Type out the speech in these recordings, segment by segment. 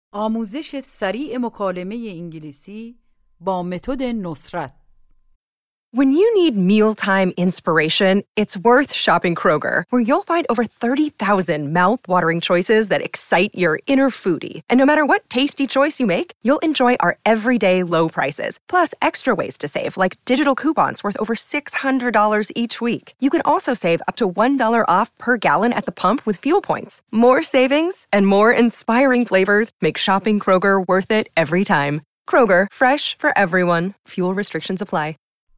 آموزش سریع مکالمه انگلیسی با متد نصرت. When you need mealtime inspiration, it's worth shopping Kroger, where you'll find over 30,000 mouth-watering choices that excite your inner foodie. And no matter what tasty choice you make, you'll enjoy our everyday low prices, plus extra ways to save, like digital coupons worth over $600 each week. You can also save up to $1 off per gallon at the pump with fuel points. More savings and more inspiring flavors make shopping Kroger worth it every time. Kroger, fresh for everyone. Fuel restrictions apply.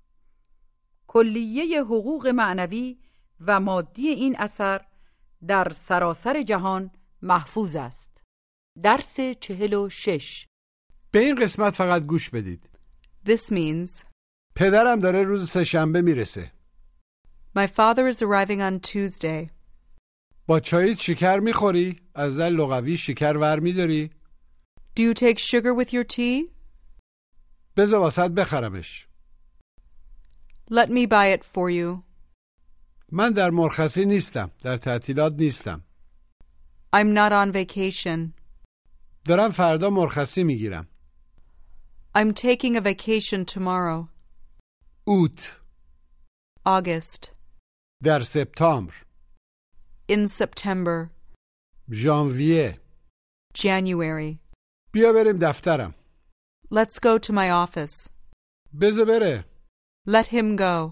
کلیه حقوق معنوی و مادی این اثر در سراسر جهان محفوظ است. درس 46. به این قسمت فقط گوش بدید. This means پدرم داره روز سه‌شنبه میرسه. my father is arriving on Tuesday. با چایت شکر میخوری؟ از نظر لغوی شکر ور میداری؟ Do you take sugar with your tea? بذار واسط بخرمش. Let me buy it for you. من در مرخصی نیستم. در تعطیلات نیستم. I'm not on vacation. دارم فردا مرخصی میگیرم. I'm taking a vacation tomorrow. اوت. August. در سپتامبر. In September. ژانویه. January. بیا بریم دفترم. Let's go to my office. بذار بره. Let him go.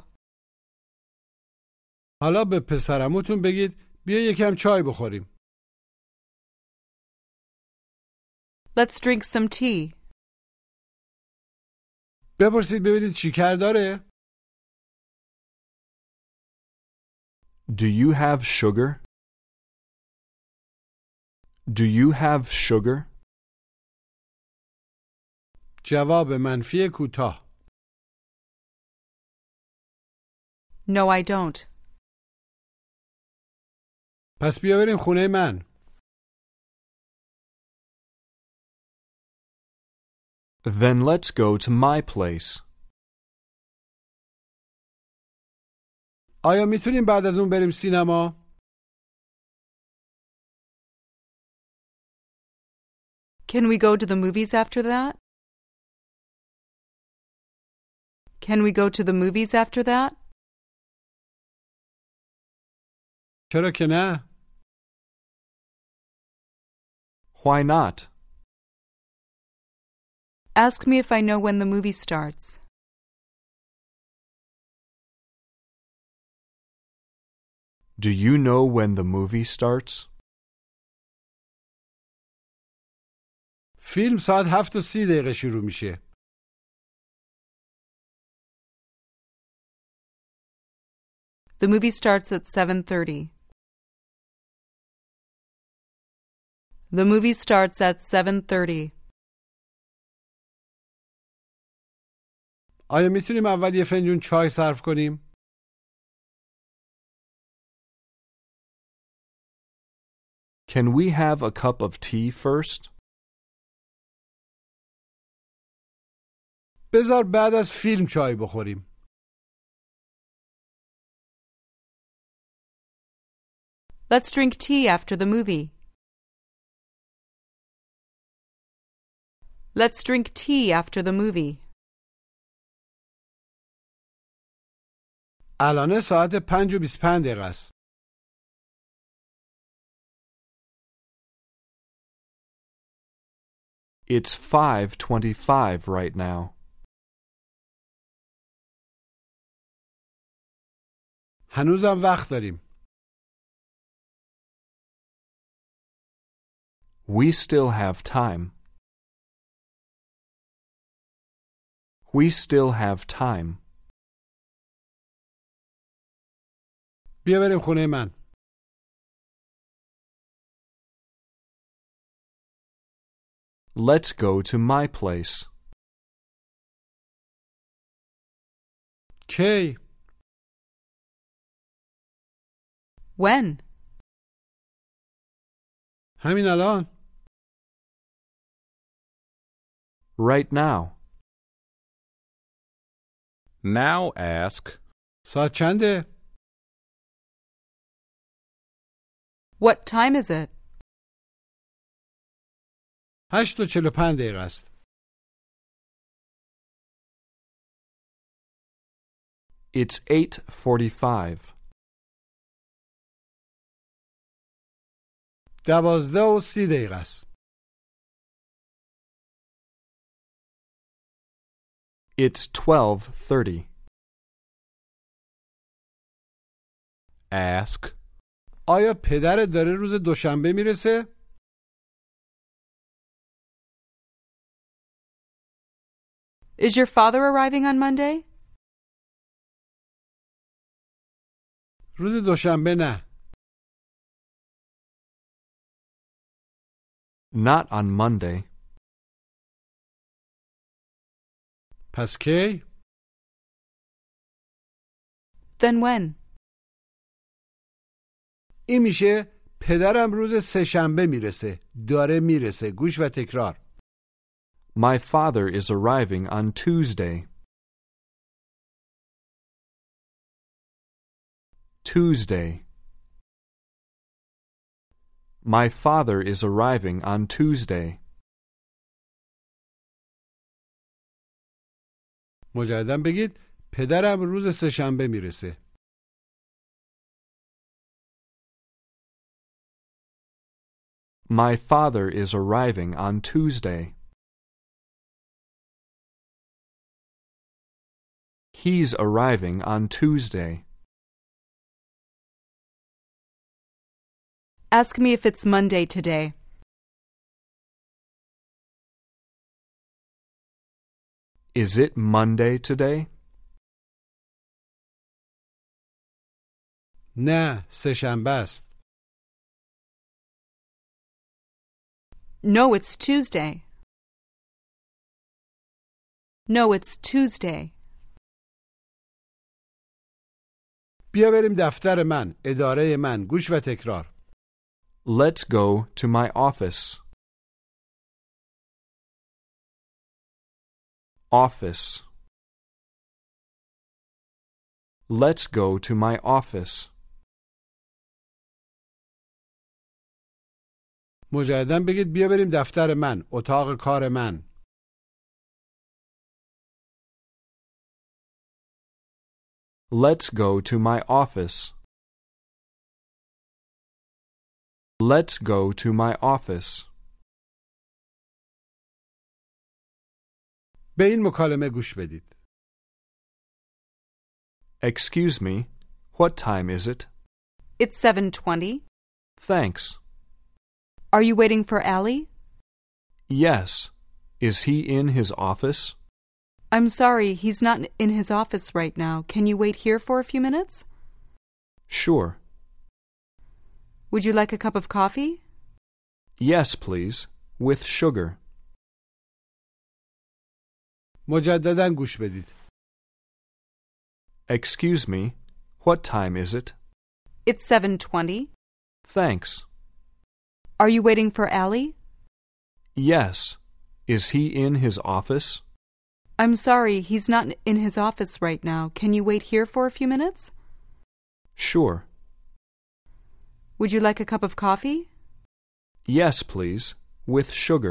حالا به پسرموتون بگید بیا یکم چای بخوریم. Let's drink some tea. بپرسید ببینید شکر داره؟ Do you have sugar? Do you have sugar? جواب منفی کوتاه. No, I don't. پس بیا بریم خونه من. Then let's go to my place. آیا میتونیم بعد از اون بریم سینما؟ Can we go to the movies after that? Can we go to the movies after that? چرا که نه؟ Why not? Ask me if I know when the movie starts. Do you know when the movie starts? فیلم ساعت 7:30 شروع میشه. The movie starts at 7:30. The movie starts at 7:30. آیا میتونیم اول یه فنجون چای صرف کنیم؟ Can we have a cup of tea first? بذار بعد از فیلم چای بخوریم. Let's drink tea after the movie. Let's drink tea after the movie. الان ساعت 5:25 است. It's 5:25 right now. هنوزم وقت داریم. We still have time. We still have time. بیا بریم خونه من. Let's go to my place. کی؟ When? همین الان. Right now. Now ask, ساعت چنده؟ What time is it? 8:45 است. It's 8:45. 12:30 است. It's 12:30. Ask. آیا پدرت داره روز دوشنبه میرسه؟ Is your father arriving on Monday? روز دوشنبه نه. Not on Monday. پس کی؟ Then when? این میشه پدرم روز سه‌شنبه میرسه. داره میرسه. گوش و تکرار. My father is arriving on Tuesday. Tuesday. My father is arriving on Tuesday. مجددا بگید پدرم روز سه‌شنبه میرسه. My father is arriving on Tuesday. He's arriving on Tuesday. Ask me if it's Monday today. Is it Monday today? نه، سه‌شنبه است. No, it's Tuesday. No, it's Tuesday. بیا بریم دفتر من، اداره من. گوش و تکرار. Let's go to my office. Office. Let's go to my office. مجددا بگید بیا بریم دفتر من، اتاق کار من. Let's go to my office. Let's go to my office. به این مکالمه گوش بدید. Excuse me, what time is it? It's 7:20. Thanks. Are you waiting for Allie? Yes. Is he in his office? I'm sorry, he's not in his office right now. Can you wait here for a few minutes? Sure. Would you like a cup of coffee? Yes, please. With sugar. مجددا گوش بدید. Excuse me, what time is it? It's 7:20. Thanks. Are you waiting for Allie? Yes. Is he in his office? I'm sorry, he's not in his office right now. Can you wait here for a few minutes? Sure. Would you like a cup of coffee? Yes, please. With sugar.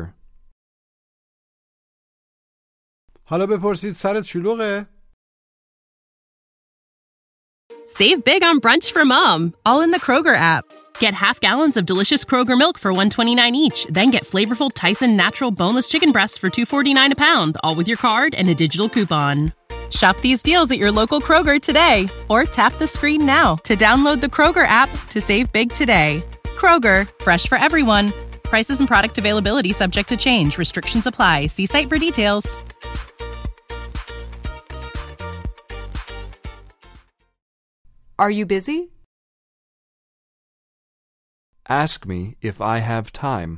حالا بپرسید سرت شلوغه؟ Save big on brunch for mom, all in the Kroger app. Get half gallons of delicious Kroger milk for $1.29 each. Then get flavorful Tyson natural boneless chicken breasts for $2.49 a pound, all with your card and a digital coupon. Shop these deals at your local Kroger today, or tap the screen now to download the Kroger app to save big today. Kroger, fresh for everyone. Prices and product availability subject to change. Restrictions apply. See site for details. Are you busy? Ask me if I have time.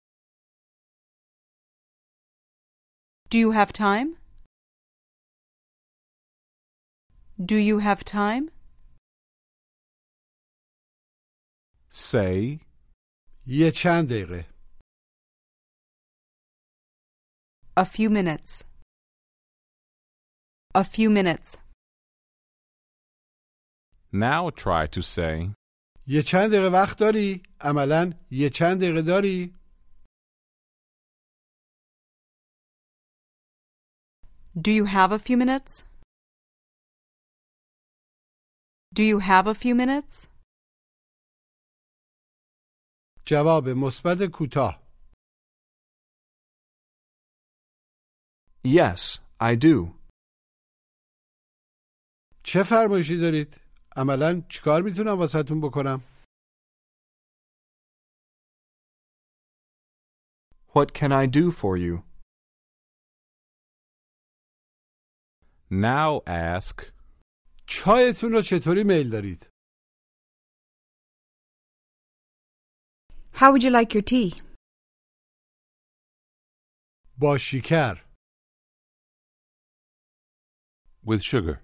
Do you have time? Do you have time? Say. یه چند دقیقه. A few minutes. A few minutes. Now try to say. یه چند دقیقه وقت داری؟ عملاً یه چند دقیقه داری؟ Do you have a few minutes? Do you have a few minutes? جواب مثبت کوتاه. Yes, I do. چه فرمایشی دارید؟ عملاً چیکار میتونم واسهتون بکنم؟ What can I do for you? Now ask, چایتون رو چطوری میل دارید؟ How would you like your tea? با شکر. With sugar.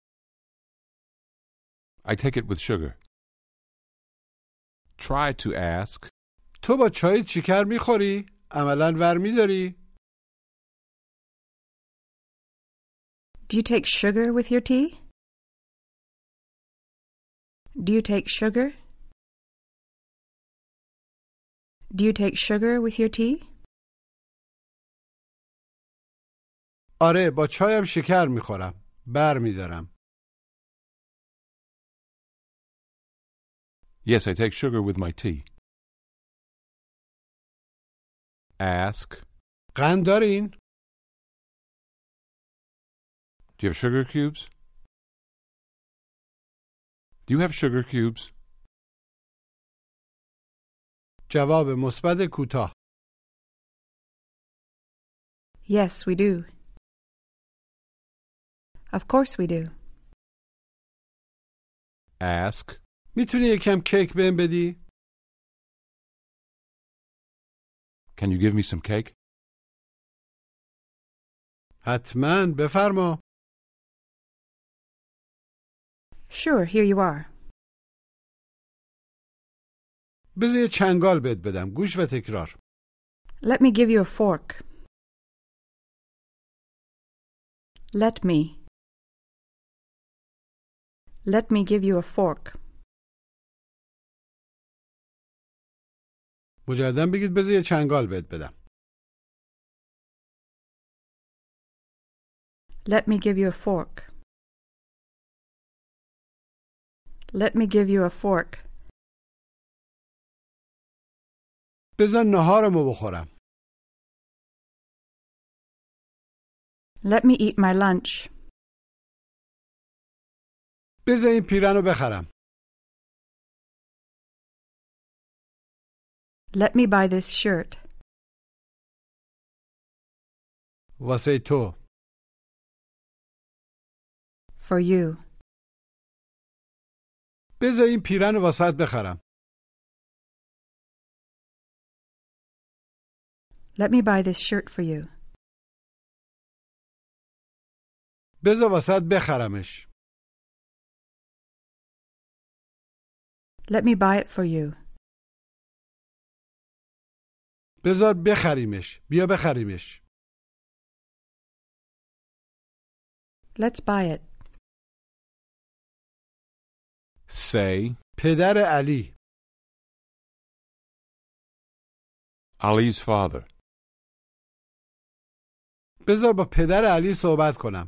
I take it with sugar. try to ask, تو با چایت شکر میخوری؟ عملاً ورمی داری؟ Do you take sugar with your tea? Do you take sugar? Do you take sugar with your tea? آره با چایم شکر میخورم. برمی دارم. Yes, I take sugar with my tea. ask, قند دارین؟ Do you have sugar cubes? Do you have sugar cubes? جواب مثبت کوتاه. Yes, we do. Of course we do. ask, میتونی یکم کیک بهم بدی؟ Can you give me some cake? حتماً بفرما. Sure, here you are. بذار یه چنگال بهت بدم. گوش و تکرار. Let me give you a fork. Let me. Let me give you a fork. مجدداً بگید بذار یه چنگال بهت بدم. Let me give you a fork. Let me give you a fork. بذار نهارمو بخورم. Let me eat my lunch. بذار این پیرنو بخرم. Let me buy this shirt. واسه تو. For you. بذار این پیرنو واسط بخرم. Let me buy this shirt for you. بذار واسط بخرمش. Let me buy it for you. بذار بخریمش. بیا بخریمش. Let's buy it. say, پدر علی. Ali's father. بذار با پدر علی صحبت کنم.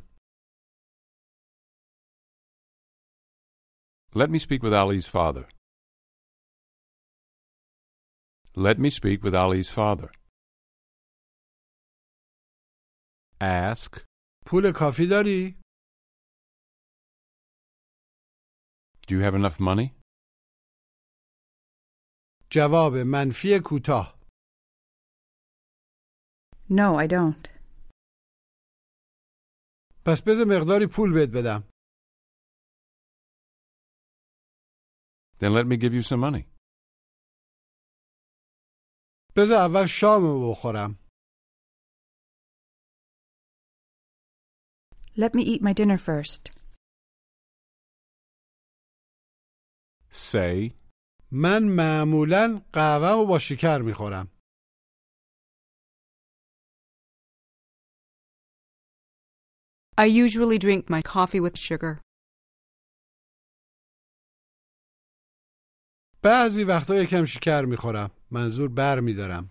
Let me speak with Ali's father. Let me speak with Ali's father. ask, پول کافی داری؟ Do you have enough money? جواب منفی کوتاه. No, I don't. پس بذار مقداری پول بهت بدم. Then let me give you some money. بذار اول شامو بخورم. Let me eat my dinner first. say, من معمولاً قهوه‌مو با شکر میخورم. I usually drink my coffee with sugar. بعضی وقتا یکم شکر میخورم. منظور بر میدارم.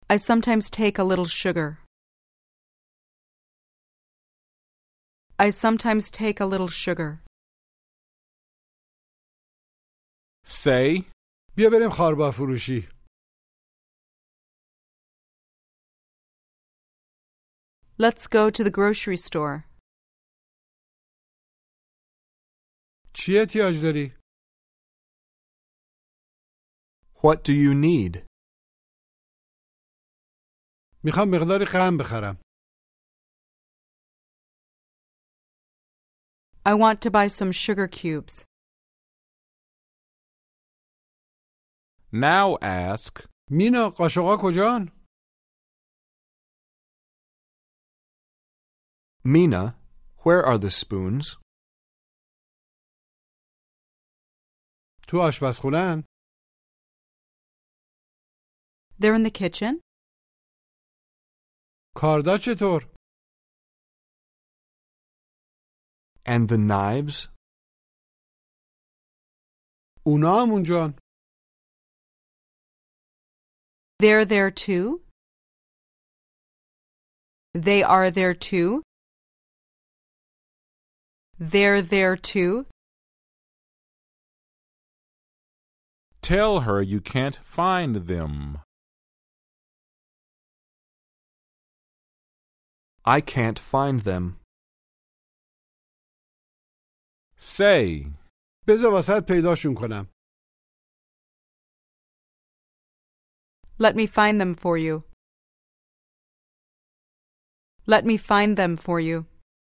I sometimes take a little sugar. I sometimes take a little sugar. Say, بیا بریم خاربار فروشی. Let's go to the grocery store. چی احتیاج داری؟ What do you need? میخوام مقداری قند بخرم. I want to buy some sugar cubes. now ask, مینا قاشقا کجان؟ Mina, where are the spoons? تو آشپزخونه‌ان. They're in the kitchen. کاردا چطور؟ And the knives? اونا هم اونجان. They're there too. They are there too. They're there too. tell her you can't find them. I can't find them. Say, بذار واسط پیداشون کنم. Let me find them for you. Let me find them for you.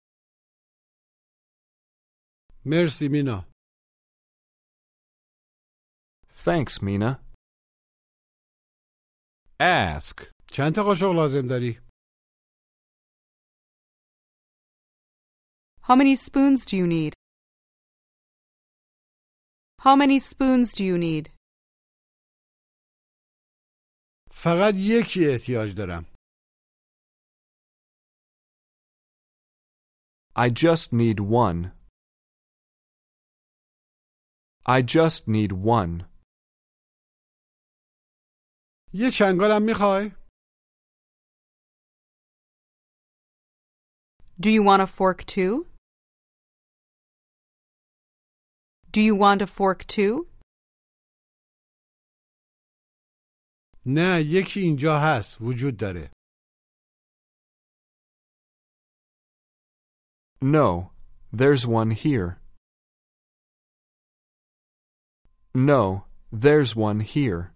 مرسی مینا. Thanks, Mina. ask, چند تا قاشق لازم داری؟ How many spoons do you need? How many spoons do you need? فقط یکی احتیاج دارم. I just need one. I just need one. یه چنگالم میخوای؟ Do you want a fork too? Do you want a fork too? نه یکی اینجا هست. وجود داره. No, there's one here. No, there's one here.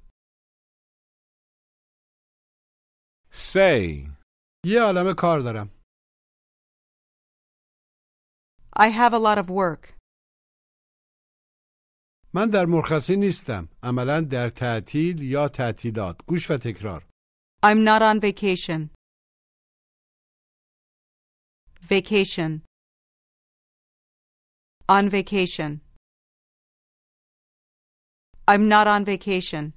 say, یه عالمه کار دارم. I have a lot of work. من در مرخصی نیستم. عملاً در تعطیل یا تعطیلات. گوش و تکرار. I'm not on vacation. Vacation. On vacation. I'm not on vacation.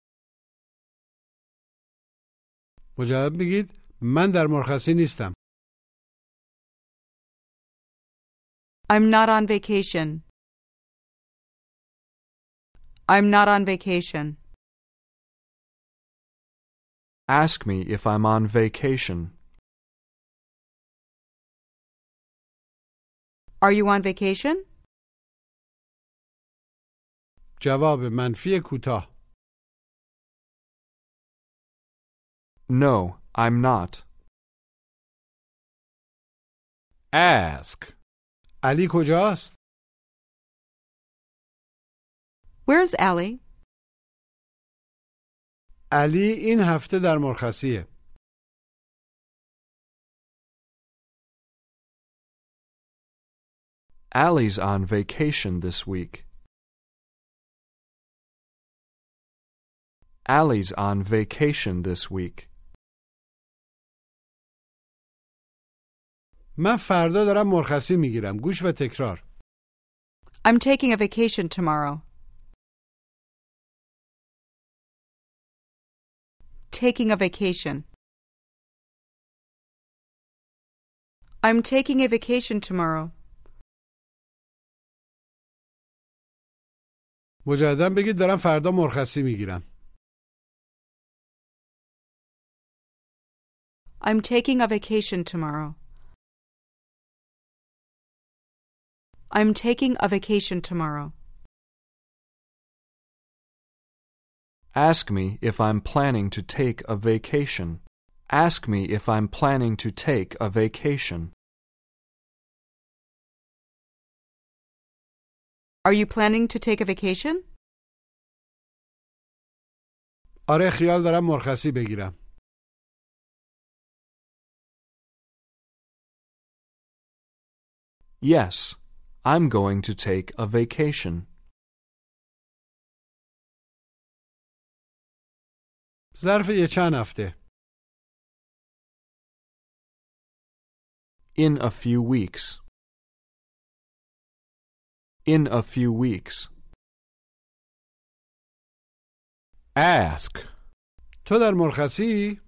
مجدد بگید من در مرخصی نیستم. I'm not on vacation. I'm not on vacation. Ask me if I'm on vacation. Are you on vacation? جواب منفی کوتاه. No, I'm not. ask, علی کجاست؟ Where's Allie? علی این هفته در مرخصیه. Allie's on vacation this week. Allie's on vacation this week. من فردا دارم مرخصی میگیرم. گوش و تکرار. I'm taking a vacation tomorrow. Taking a vacation. I'm taking a vacation tomorrow. مجددا بگید دارم فردا مرخصی میگیرم. I'm taking a vacation tomorrow. I'm taking a vacation tomorrow. Ask me if I'm planning to take a vacation. Ask me if I'm planning to take a vacation. Are you planning to take a vacation? آره خیال دارم مرخصی بگیرم. Yes, I'm going to take a vacation. ظرف چند هفته. In a few weeks. In a few weeks. Ask. تو در مرخصی؟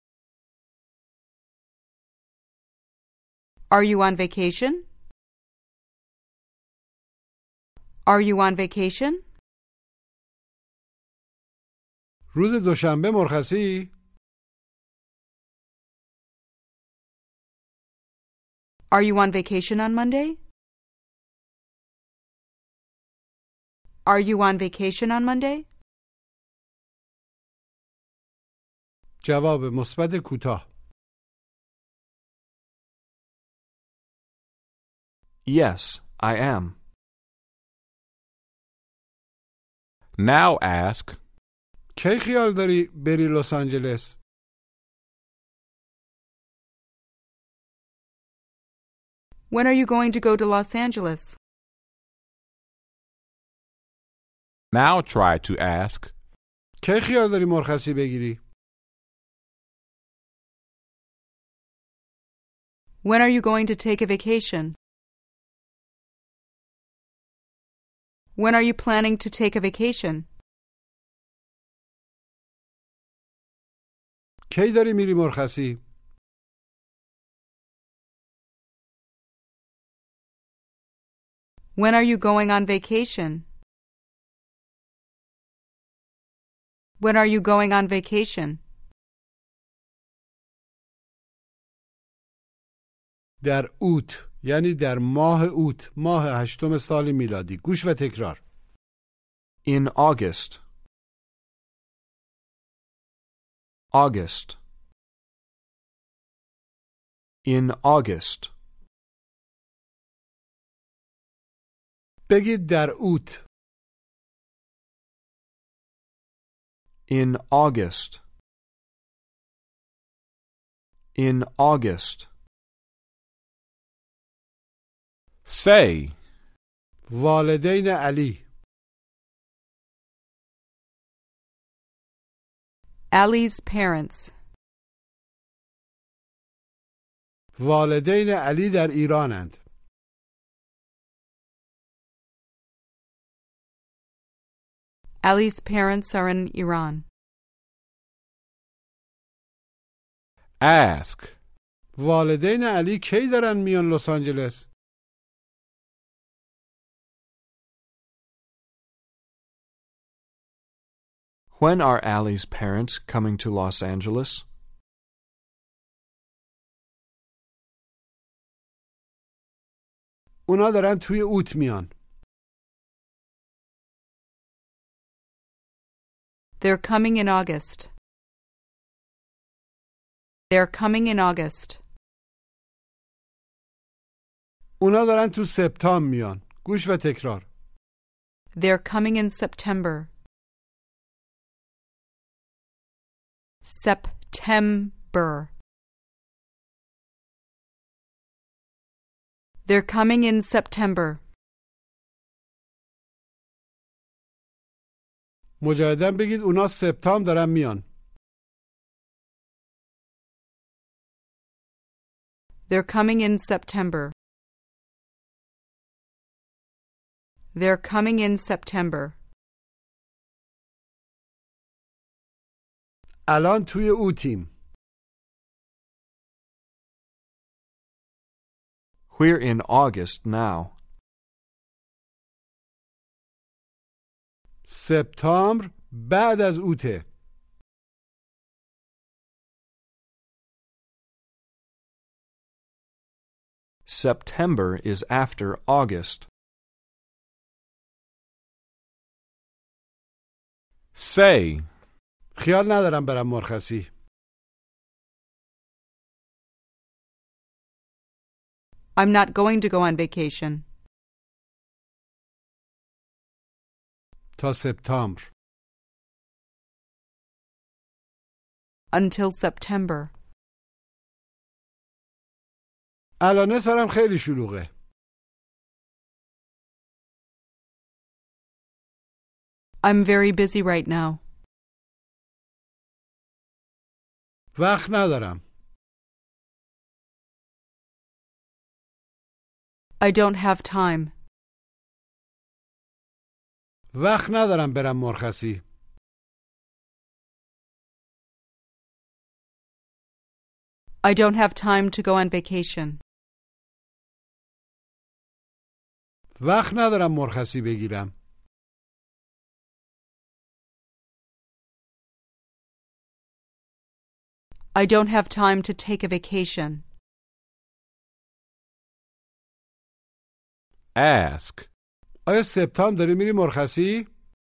Are you on vacation? Are you on vacation? روز دوشنبه مرخصی؟ Are you on vacation on Monday? Are you on vacation on Monday? جواب مثبت کوتاه. Yes, I am. Now ask. کی خیال داری بری لس آنجلس؟ When are you going to go to Los Angeles? Now try to ask. کی خیال داری مرخصی بگیری؟ When are you going to take a vacation? When are you planning to take a vacation? کی داری میری مرخصی؟ When are you going on vacation? When are you going on vacation? در اوت، یعنی در ماه اوت، ماه 8 سال میلادی. گوش و تکرار. In August. August. In August. بگید در اوت. In August. In August. Say. والدین علی. Ali's parents. والدین علی در ایرانند. Ali's parents are in Iran. Ask. والدین علی کی دارن میان لس آنجلس؟ When are Allie's parents coming to Los Angeles? اونا دارن توی اوت میان. They're coming in August. They're coming in August. اونا دارن تو سپتامبر میان. گوش و تکرار. They're coming in September. September. They're coming in September. مجددا بگید اونا سپتامبر دارن میان. They're coming in September. They're coming in September. الان توی اوتیم. We're in August now. سپتامبر بعد از اوته. September is after August. Say. خیال ندارم برم مرخصی. I'm not going to go on vacation. تا سپتامبر. Until September. الان سرم خیلی شلوغه. I'm very busy right now. وقت ندارم. I don't have time. وقت ندارم برم مرخصی. I don't have time to go on vacation. وقت ندارم مرخصی بگیرم. I don't have time to take a vacation. Ask. آیا سپتامبر داری میری مرخصی؟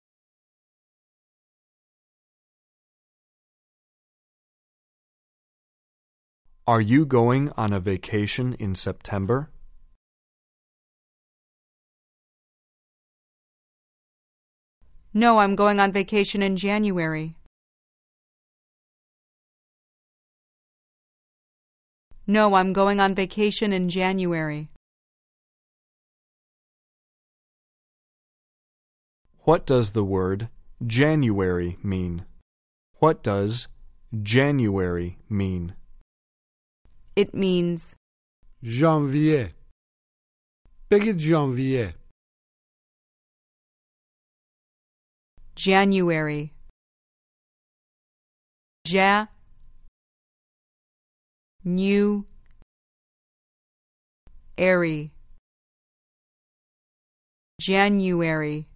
Are you going on a vacation in September? No, I'm going on vacation in January. No, I'm going on vacation in January. What does the word January mean? What does January mean? It means ژانویه. بگید ژانویه. January. New airy. January.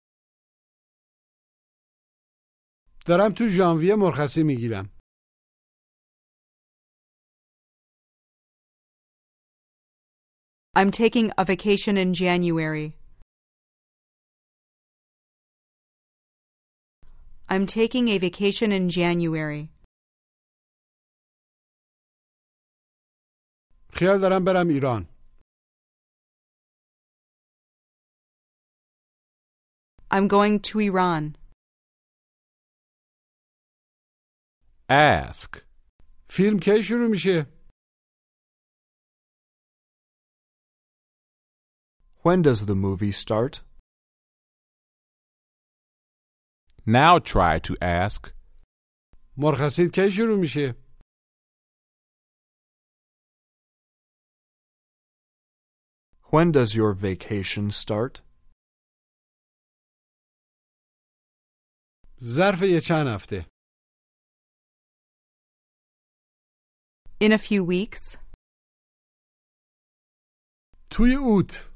دارم تو ژانویه مرخصی میگیرم. I'm taking a vacation in January. I'm taking a vacation in January. خیال دارم برم ایران. I'm going to Iran. Ask. فیلم کی شروع میشه؟ When does the movie start? Now try to ask. مرخصیت کی شروع میشه؟ When does your vacation start? ظرف یه چند هفته. In a few weeks. توی اوت.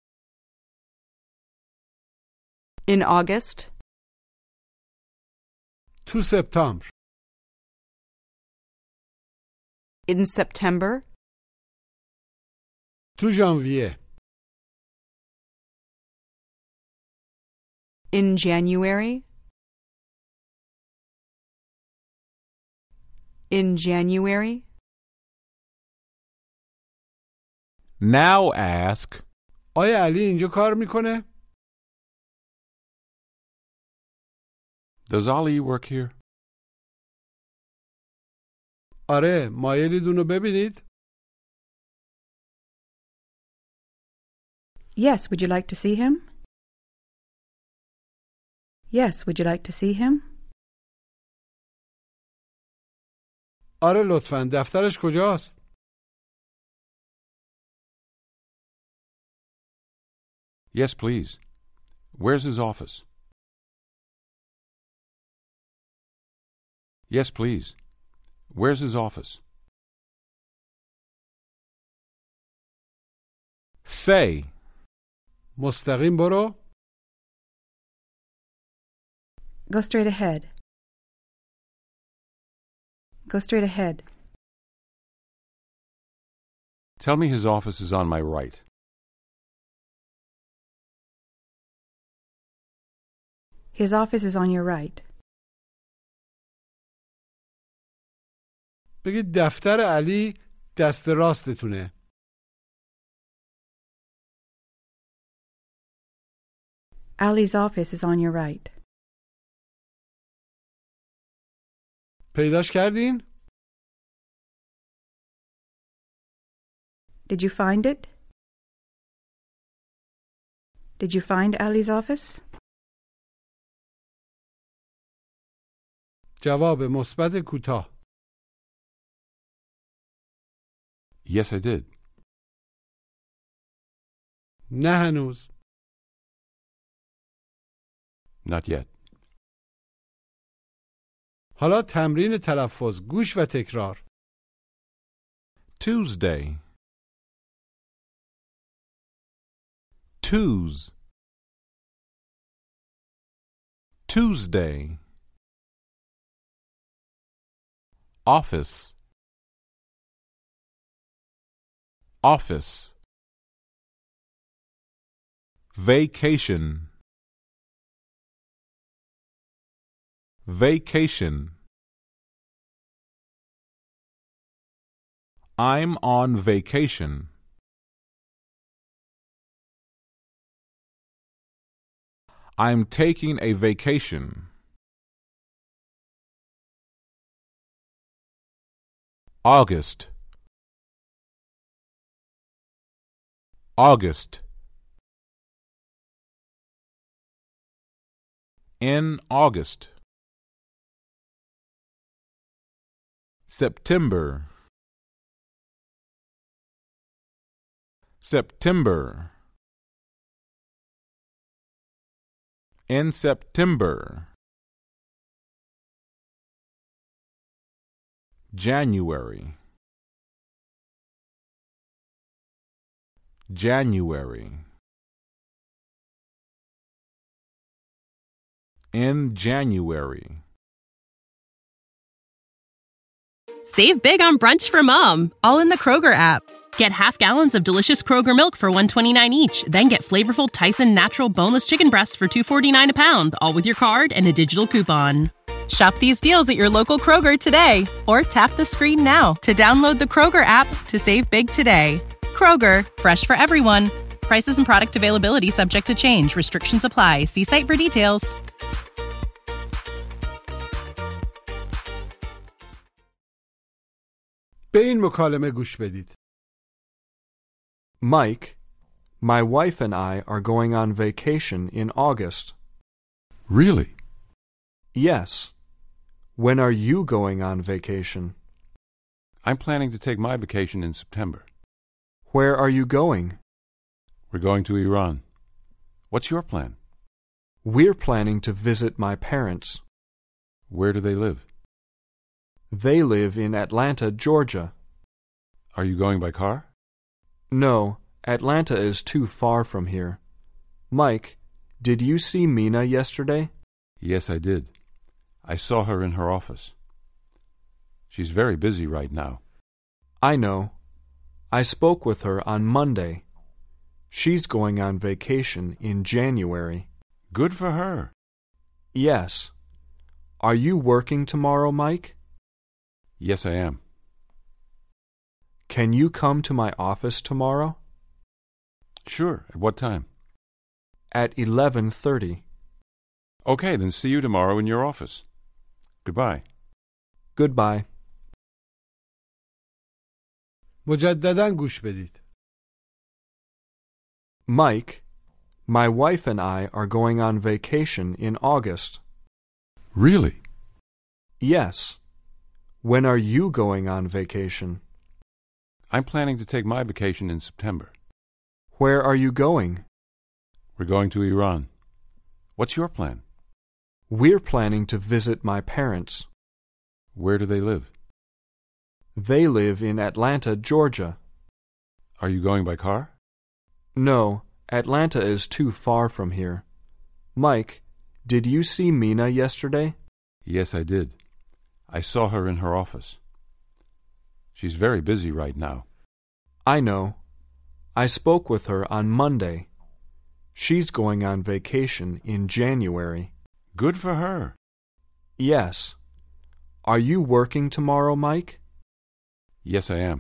In August. تو سپتامبر. In September. تو ژانویه. In January. In January. Now ask. آیا علی اینجا کار میکنه؟ Does Ali work here? آره، مایلید اونو ببینید؟ Yes, would you like to see him? Yes, would you like to see him? آره لطفاً، دفترش کجاست؟ Yes, please. Where's his office? Yes, please. Where's his office? Say. مستقیم برو. Go straight ahead. Go straight ahead. Tell me his office is on my right. His office is on your right. بگید دفتر علی دست راستتونه. Ali's office is on your right. پیداش کردین؟ Did you find it? Did you find Ali's office? جواب مثبت کوتاه. Yes, I did. نه هنوز. Not yet. حالا تمرین تلفظ گوش و تکرار. Tuesday. Tuesday. Office. Vacation. I'm on vacation. I'm taking a vacation. August. In August. September. In September. January. In January. Save big on brunch for mom, all in the Kroger app. Get half gallons of delicious Kroger milk for $1.29 each. Then get flavorful Tyson natural boneless chicken breasts for $2.49 a pound, all with your card and a digital coupon. Shop these deals at your local Kroger today, or tap the screen now to download the Kroger app to save big today. Kroger, fresh for everyone. Prices and product availability subject to change. Restrictions apply. See site for details. به این مکالمه گوش بدید. Mike, my wife and I are going on vacation in August. Really? Yes. When are you going on vacation? I'm planning to take my vacation in September. Where are you going? We're going to Iran. What's your plan? We're planning to visit my parents. Where do they live? They live in Atlanta, Georgia. Are you going by car? No, Atlanta is too far from here. Mike, did you see Mina yesterday? Yes, I did. I saw her in her office. She's very busy right now. I know. I spoke with her on Monday. She's going on vacation in January. Good for her. Yes. Are you working tomorrow, Mike? Yes, I am. Can you come to my office tomorrow? Sure. At what time? At 11:30. Okay, then see you tomorrow in your office. Goodbye. Goodbye. مجدداً گوش بدید. Mike, my wife and I are going on vacation in August. Really? Yes. When are you going on vacation? I'm planning to take my vacation in September. Where are you going? We're going to Iran. What's your plan? We're planning to visit my parents. Where do they live? They live in Atlanta, Georgia. Are you going by car? No, Atlanta is too far from here. Mike, did you see Mina yesterday? Yes, I did. I saw her in her office. She's very busy right now. I know. I spoke with her on Monday. She's going on vacation in January. Good for her. Yes. Are you working tomorrow, Mike? Yes, I am.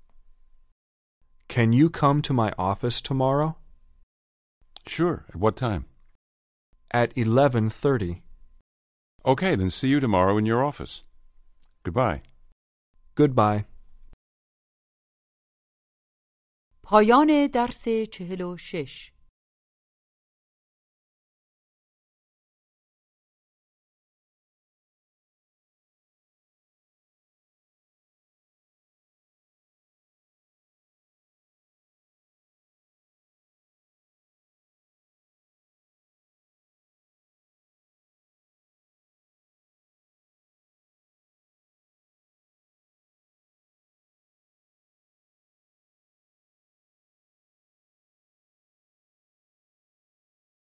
Can you come to my office tomorrow? Sure. At what time? At 11:30. Okay, then see you tomorrow in your office. Goodbye. Goodbye. پایان درس 46